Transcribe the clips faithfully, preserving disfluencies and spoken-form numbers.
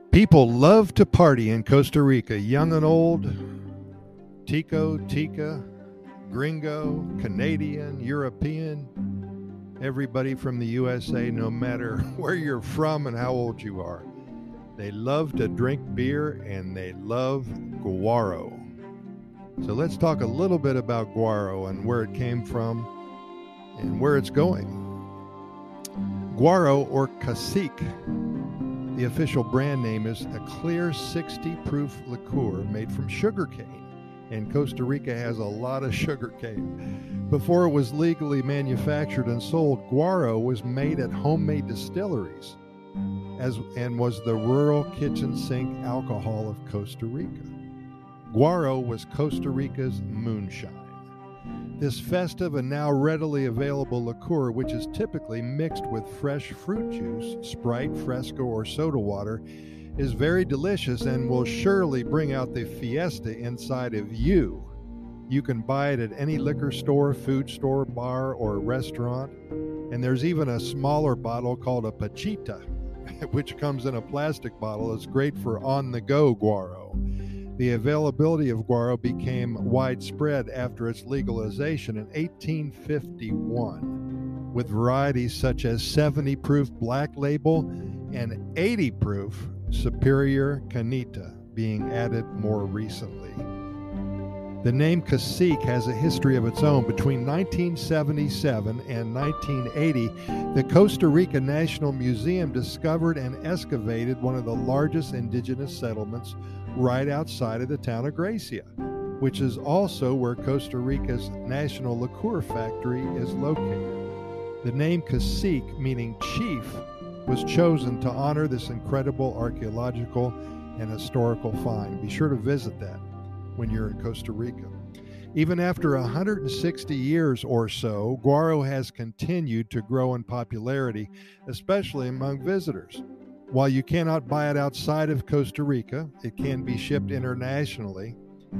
People love to party in Costa Rica, young and old, Tico, Tica, Gringo, Canadian, European, everybody from the U S A, no matter where you're from and how old you are. They love to drink beer and they love guaro. So let's talk a little bit about guaro and where it came from and where it's going. Guaro, or Cacique, the official brand name, is a clear sixty proof liqueur made from sugarcane, and Costa Rica has a lot of sugarcane. Before it was legally manufactured and sold, guaro was made at homemade distilleries as and was the rural kitchen sink alcohol of Costa Rica. Guaro was Costa Rica's moonshine. This festive and now readily available liqueur, which is typically mixed with fresh fruit juice, Sprite, Fresco, or soda water, is very delicious and will surely bring out the fiesta inside of you. You can buy it at any liquor store, food store, bar, or restaurant. And there's even a smaller bottle called a pachita, which comes in a plastic bottle. It's great for on-the-go guaro. The availability of guaro became widespread after its legalization in eighteen fifty-one, with varieties such as seventy proof Black Label and eighty proof Superior Canita being added more recently. The name Cacique has a history of its own. Between nineteen seventy-seven and nineteen eighty, the Costa Rica National Museum discovered and excavated one of the largest indigenous settlements right outside of the town of Gracia, which is also where Costa Rica's national liqueur factory is located. The name Cacique, meaning chief, was chosen to honor this incredible archaeological and historical find. Be sure to visit that when you're in Costa Rica. Even after one hundred sixty years or so, guaro has continued to grow in popularity, especially among visitors. While you cannot buy it outside of Costa Rica, it can be shipped internationally.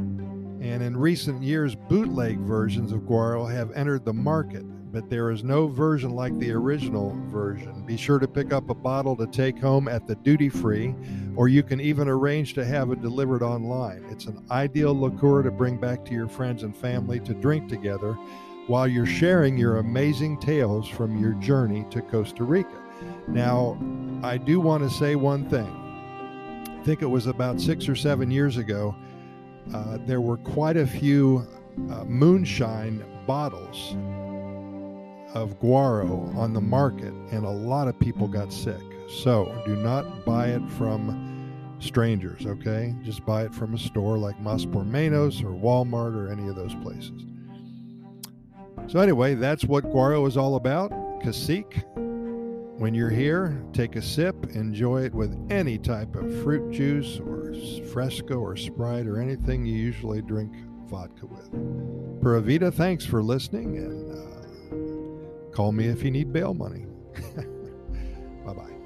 And in recent years, bootleg versions of guaro have entered the market, but there is no version like the original version. Be sure to pick up a bottle to take home at the duty-free, or you can even arrange to have it delivered online. It's an ideal liqueur to bring back to your friends and family to drink together while you're sharing your amazing tales from your journey to Costa Rica. Now, I do want to say one thing. I think it was about six or seven years ago, uh, there were quite a few uh, moonshine bottles of guaro on the market, and a lot of people got sick. So do not buy it from strangers, okay? Just buy it from a store like Mas por Menos or Walmart or any of those places. So anyway, that's what guaro is all about. Cacique. When you're here, take a sip, enjoy it with any type of fruit juice or Fresco or Sprite or anything you usually drink vodka with. Pura Vida, thanks for listening, and uh, call me if you need bail money. Bye-bye.